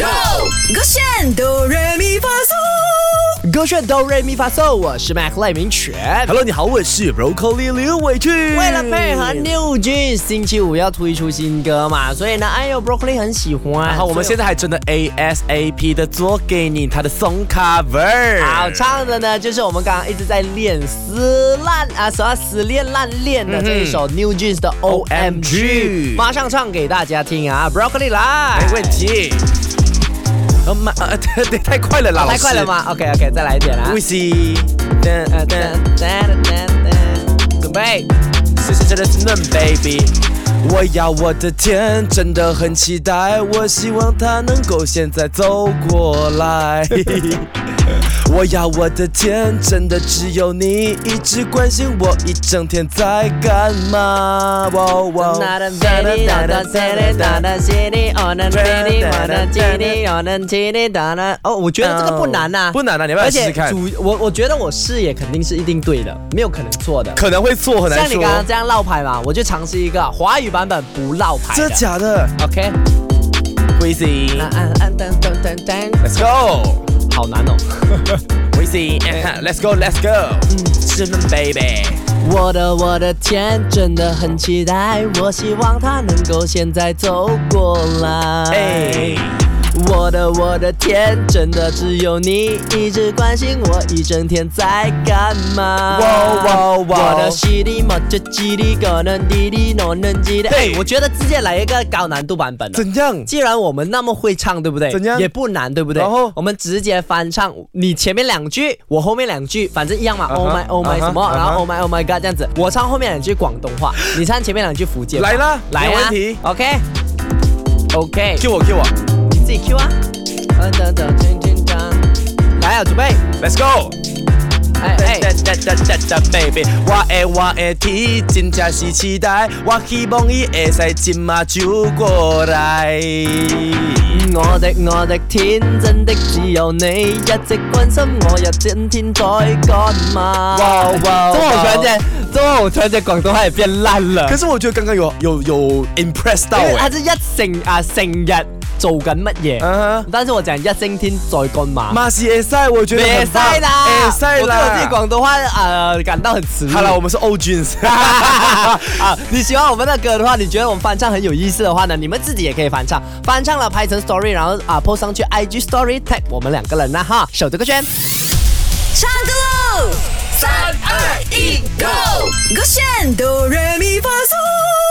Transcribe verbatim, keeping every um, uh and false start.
Go， 勾选哆来咪发嗦， 勾选哆来咪发嗦，我是 Mac 赖明全。 Hello， 你好，我是 Broccoli 刘伟俊。 为了配合 New Jeans， 星期五要推出新歌嘛，所以呢，哎呦 Broccoli 很喜欢。 然后我们现在还真的 A S A P 的做给你他的 song cover。 好，唱的呢就是我们刚刚一直在练撕烂啊，什么死练烂练的这一首 New Jeans 的 O M G， 马上唱给大家听啊 ，Broccoli 来， 没问题。哦妈，呃，对，太快了啦， 太快了吗 ？OK OK， 再来一点啦。 We see， 噔噔噔噔噔， 准备， 是是真的是嫩 baby。我要我的天，真的很期待，我希望它能够现在走过来。我要我的天，真的只有你一直关心我一整天在干嘛。哇哇！ 哦，我觉得这个不难呐， 不难啊，你要不要试试看？ 而且主我我觉得我视野肯定是一定对的，没有可能错的。 可能会错，很难说。 像你刚刚这样绕牌嘛，我就尝试一个华语版本不绕牌的。 这假的 ？OK。We see。Let's go。 好难哦。 We see。Let's go，Let's go。是嫩 baby。 我的我的天，真的很期待，我希望他能够现在走过来。 Hey。 我的我的天，真的只有你一直关心我一整天在干嘛。 哇哇哇！ 我的西里莫就叽里个能滴滴诺能叽的。哎，我觉得直接来一个高难度版本的。 怎样？ 既然我们那么会唱，对不对？ 怎样？ 也不难，对不对？ 然后我们直接翻唱，你前面两句，我后面两句，反正一样嘛。Uh-huh, oh my oh my、uh-huh, 什么， uh-huh. 然后 oh my oh my god 这样子。我唱后面两句广东话，你唱前面两句福建话。 来啦， 来没问题。 OK OK。 Q 我 Q 我。 自己 Q 啊！来啊，准備 ，Let's go！ 哎哎，baby， 我的我的天，真正是期待，我希望伊會使今嘛就過來。 我的我的天，真的只有你一直關心我，一整天在幹嘛？哇哇！怎麼我突然間，怎麼我突然間廣東話也變爛了？ 可是我覺得剛剛有有有 impress 到誒， 他是一成啊成日。做緊乜嘢？ Uh-huh. 但是我講一星天在幹嘛？ 馬是會使，我覺得很棒。 會使啦， 會使啦。 我對我自己廣東話呃感到很恥辱。 好了，我們是 O Jeans。 啊，你喜歡我們的歌的話，你覺得我們翻唱很有意思的話呢，你們自己也可以翻唱，翻唱了拍成 story， 然後啊 post 上去 I G story tag 我們兩個人啦哈，手這個圈， 唱歌嘍！三二一，Go！ 勾選哆來咪發嗦。